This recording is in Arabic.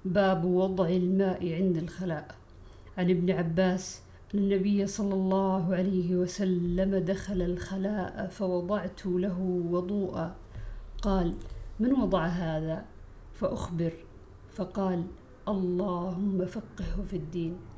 باب وضع الماء عند الخلاء. عن ابن عباس أن النبي صلى الله عليه وسلم دخل الخلاء فوضعت له وضوءا، قال: من وضع هذا؟ فأخبر، فقال: اللهم فقهه في الدين.